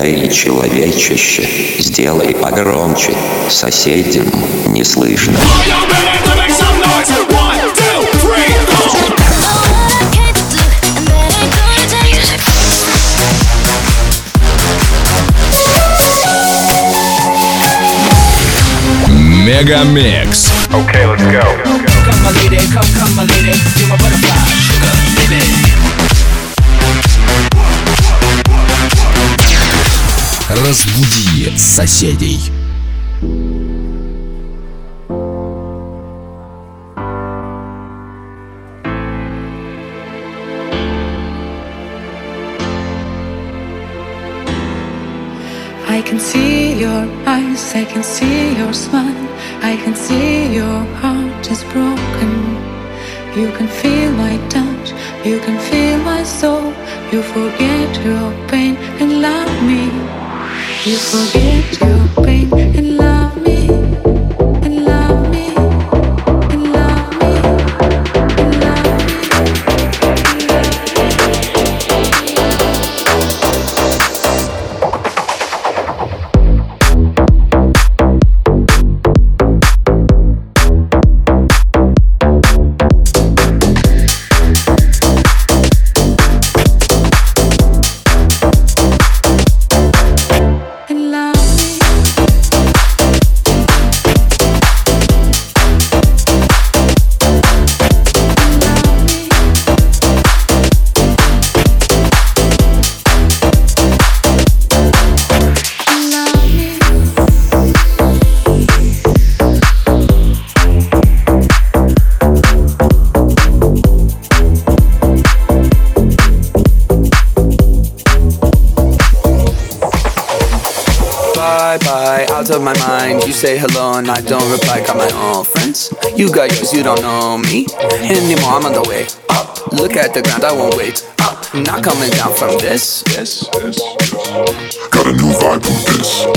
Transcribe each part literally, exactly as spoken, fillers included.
Эй, человечище, сделай погромче, соседям не слышно. Мегамикс. Okay, let's go. Come my lady, come, come my lady, you're my butterfly, sugar, baby. Разбуди соседей. I can see your eyes, I can see your smile, I can see your heart is broken. You can feel my touch, you can feel my soul. You forget your pain and love me. You forget your pain and love me. And love me. And love me. And love out of my mind. You say hello and I don't reply. Got my own friends. You got yours, you don't know me anymore. I'm on the way up. Look at the ground, I won't wait up. Not coming down from this. Yes, yes. Got a new vibe with this.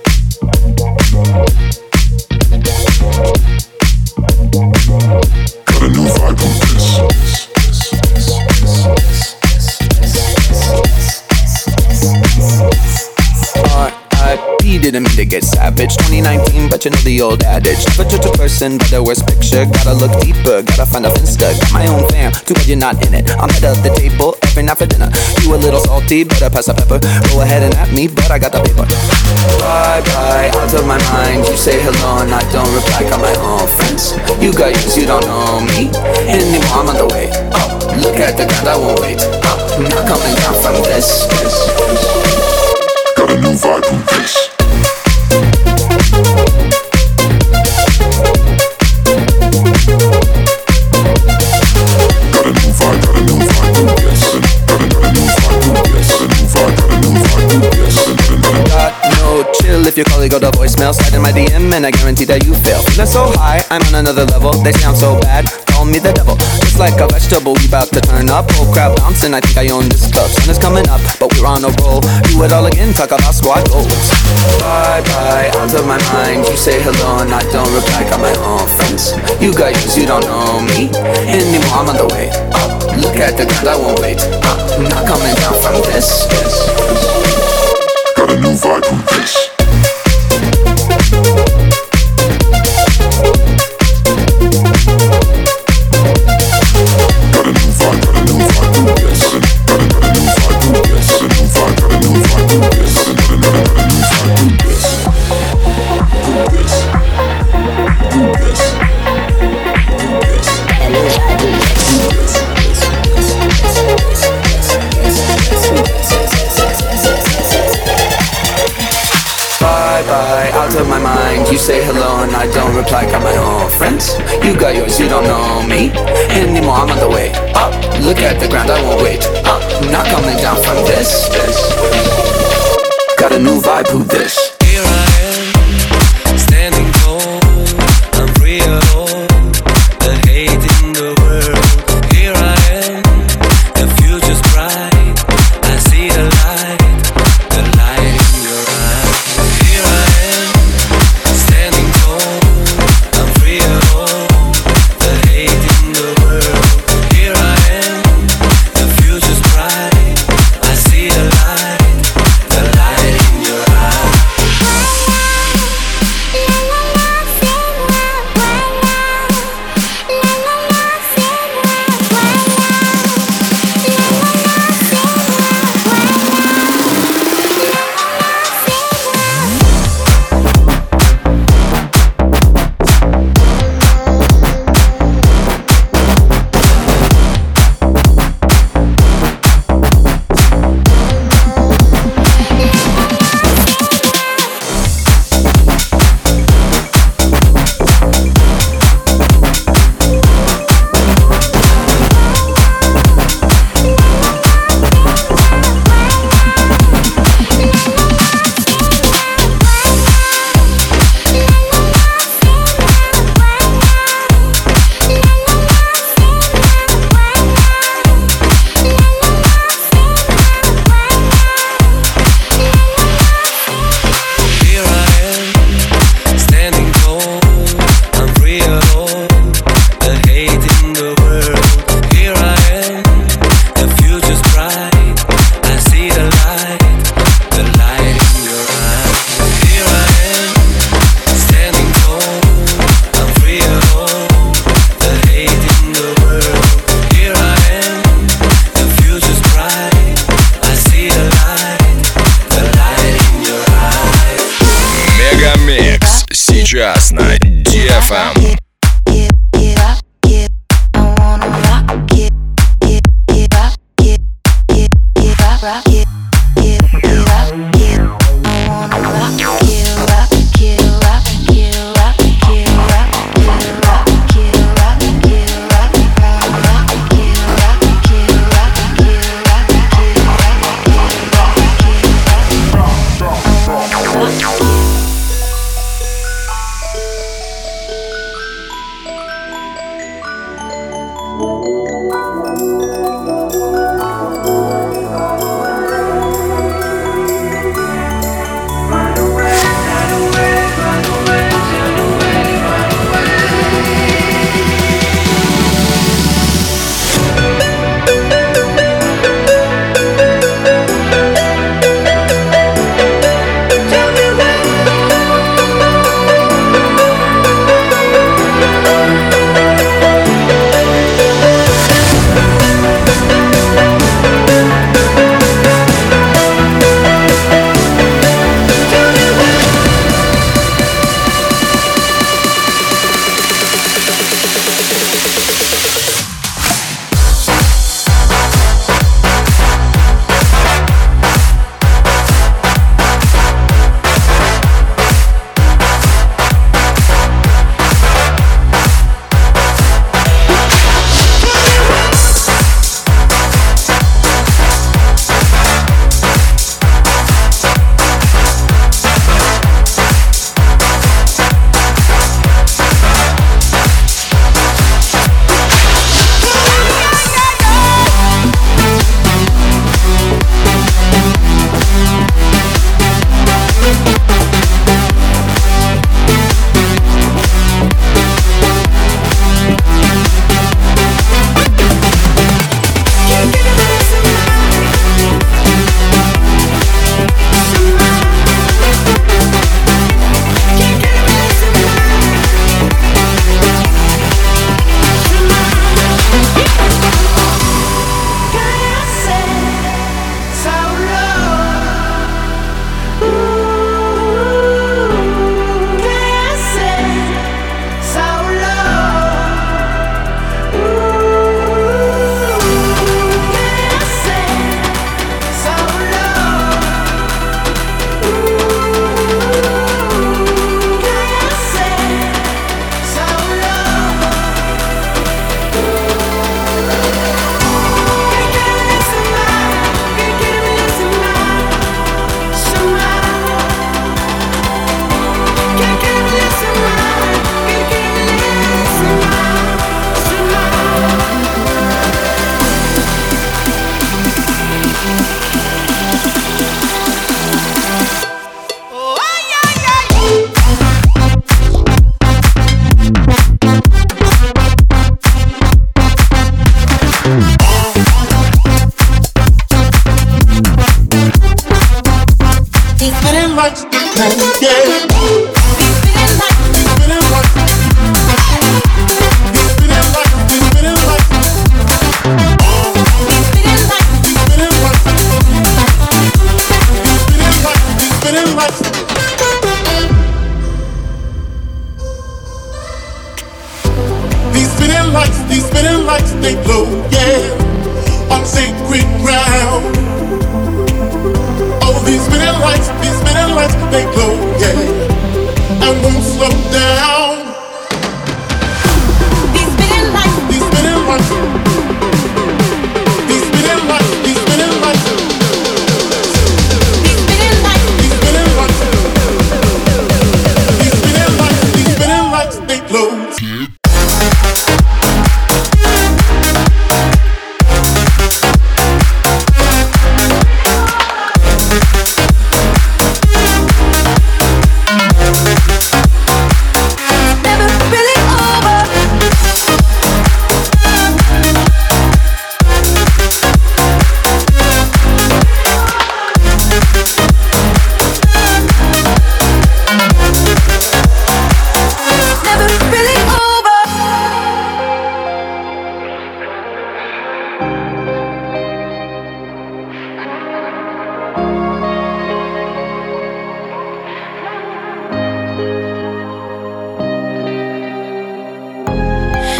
Got a new vibe with this. Didn't mean to get savage. twenty nineteen, but you know the old adage. Never judge a person by their worst picture. Gotta look deeper, gotta find a finsta. Got my own fam, too bad you're not in it. I'm head of the table every night for dinner. You a little salty, better pass the pepper. Go ahead and at me, but I got the paper. Bye bye, out of my mind. You say hello and I don't reply. Got my own friends. You got yours, you don't know me anymore. I'm on the way up. Look at the ground, I won't wait up. Not coming down from this. Got a new vibe with this. If your colleague go to voicemail, slide in my D M and I guarantee that you fail. Feeling so high, I'm on another level. They sound so bad, call me the devil. Just like a vegetable, we bout to turn up. Whole crowd bouncing, I think I own this club. Sun is coming up, but we're on a roll. Do it all again, talk about squad goals. Bye bye, out of my mind. You say hello and I don't reply. Got my own friends. You got yours, you don't know me anymore. I'm on the way up. Look at the ground, I won't wait up. Not coming down from this. Got a new vibe with this. You say hello and I don't reply. Got my own friends. You got yours, you don't know me anymore. I'm on the way up. Look at the ground, I won't wait up. Not coming down from this. Got a new vibe, who this? Here I am, standing tall. I'm free alone. The hate in the world. Here I am, the future's bright. I see the light, the light in your eyes. Here I am, standing tall. I'm free alone. The hate in the world. Here I am, the future's bright. I see the light, the light in Сейчас на ди эф эм.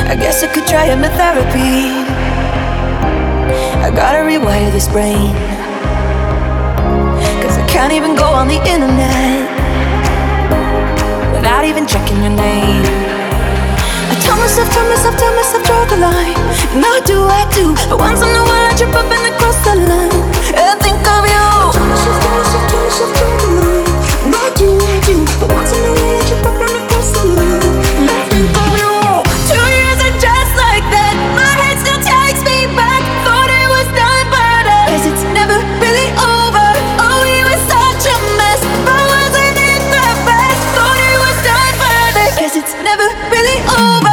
I guess I could try hypnotherapy. I gotta rewire this brain, cause I can't even go on the internet without even checking your name. I tell myself, tell myself, tell myself, draw the line. And I do, I do, but once in a while I trip up and I cross the line and think of you. I tell myself, tell myself, tell myself, draw the line. And I do, I do, but once in a while I trip up and I cross the line and I think of you. Two years are just like that. My head still takes me back. Thought it was done, but I guess it's never really over. Oh, we were such a mess, but wasn't it the best? Thought it was done, but I guess it's never really over.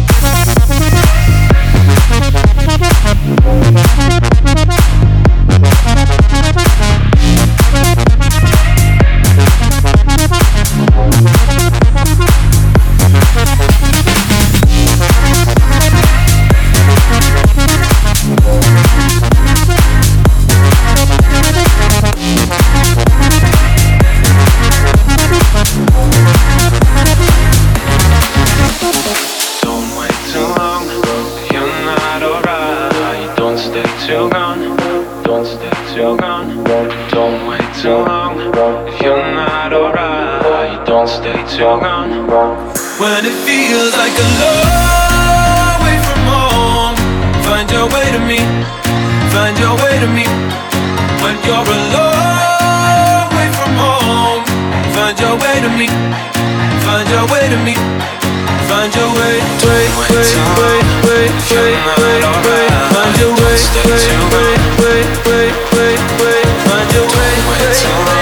When it feels like a long way from home, find your way to me, find your way to me. When you're a long way from home, find your way to me, find your way to me, find your way, way, way, way, way, way, way, way, find your way, way, way, way, way, way, way, find your way, way, way.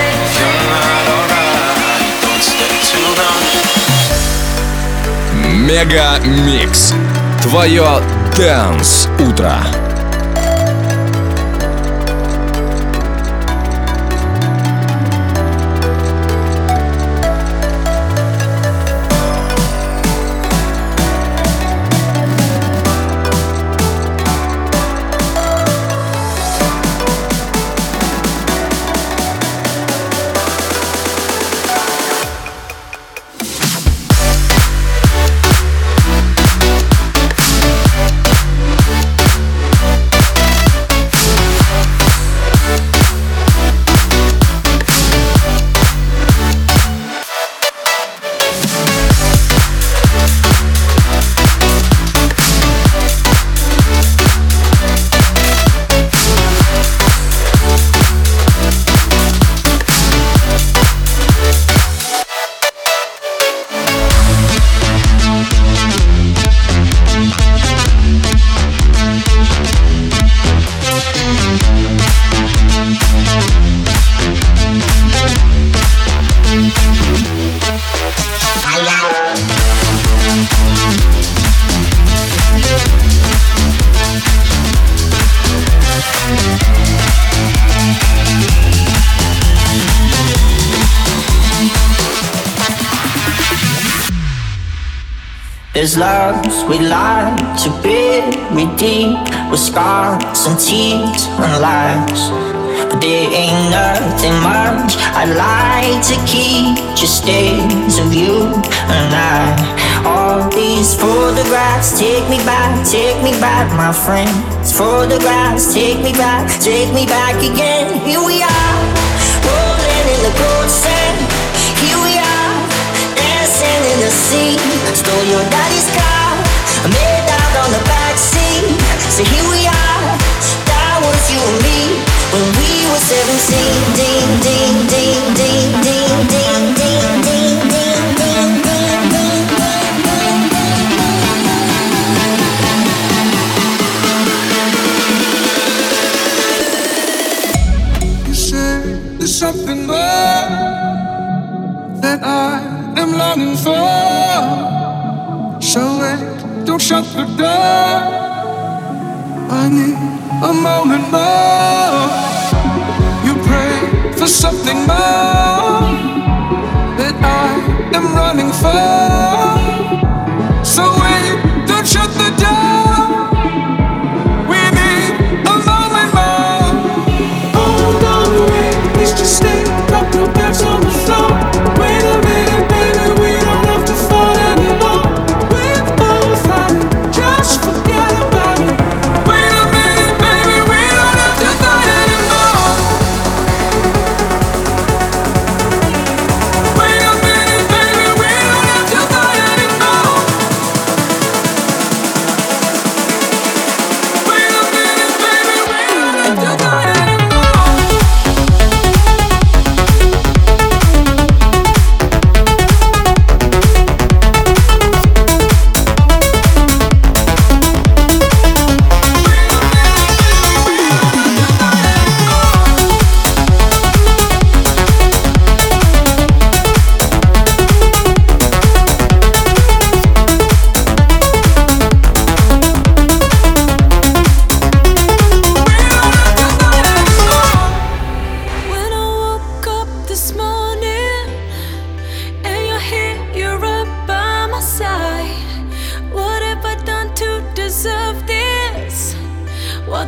Мега Микс. Твое Dance утро. There's loves we like to bury deep, with scars and tears and lies. But there ain't nothing much I'd like to keep, just days of you and I. All these photographs take me back, take me back, my friends. Photographs take me back, take me back again. Here we are, rolling in the cold sand. Here we are, dancing in the sea. Stole your daddy's car, made out on the backseat. So here we are, that was you and me when we were seventeen. Ding, ding, ding, ding, ding, ding, ding, ding, ding, ding, ding, ding. You say there's something more that I am longing for. So wait, don't shut the door. I need a moment more. You pray for something more that I am running for. So wait, don't shut the door. We need a moment more. Hold on, wait, please just stay. Drop your backs on the floor. Wait a minute, baby, we don't have to fall anymore. We're both right.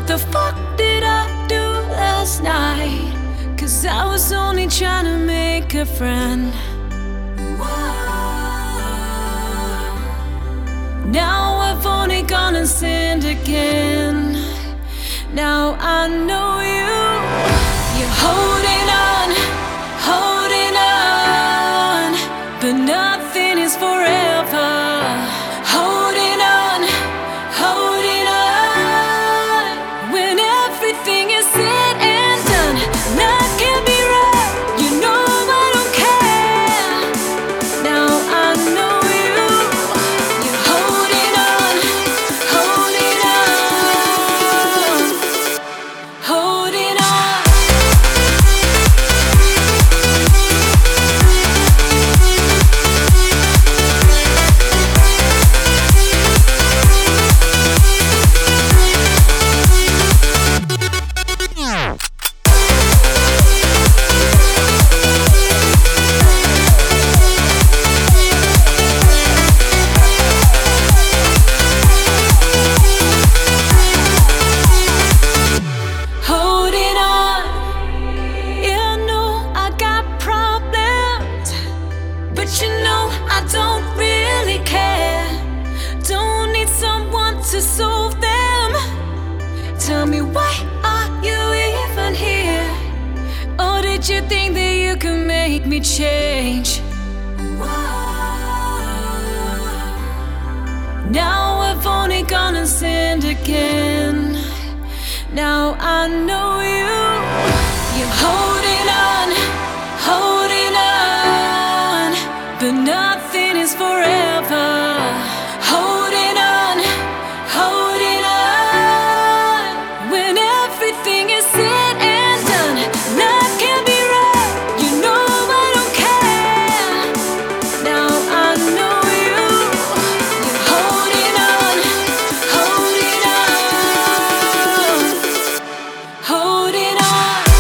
What the fuck did I do last night? Cause I was only trying to make a friend. Now I've only gone and sinned again. Now I know you. You're holding on, holding on, but nothing is forever. Holding on, holding on, when everything is said and done, nothing can be right. You know I don't care. Now I know you. You're holding on, holding on, holding on. Holding on. Yeah, I know I got problems, but you know I don't really care. Don't need someone to solve them. Tell me, why are you even here? Or did you think that you could make me change? Now I've only gone and sinned again. Now I know you. You're holding on, holding on, but nothing is forever. Holding on, holding on, when everything is said and done, nothing can be right. You know I don't care. Now I know you. You're holding on, holding on, holding on.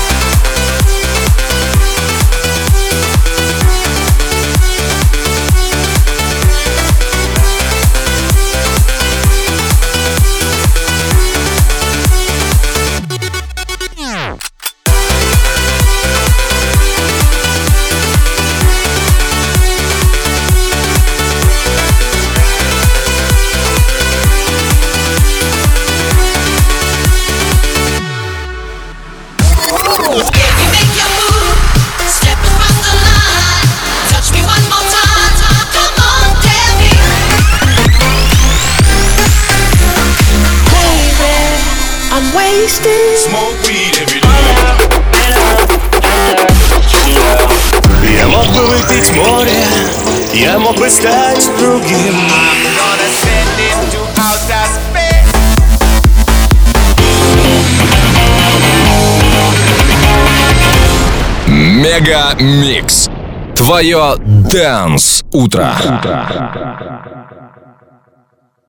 Smoke weed every day. Я мог бы выпить море, я мог бы стать другим. I'm gonna send it to outer space. Мега Микс. Твое Dance утро.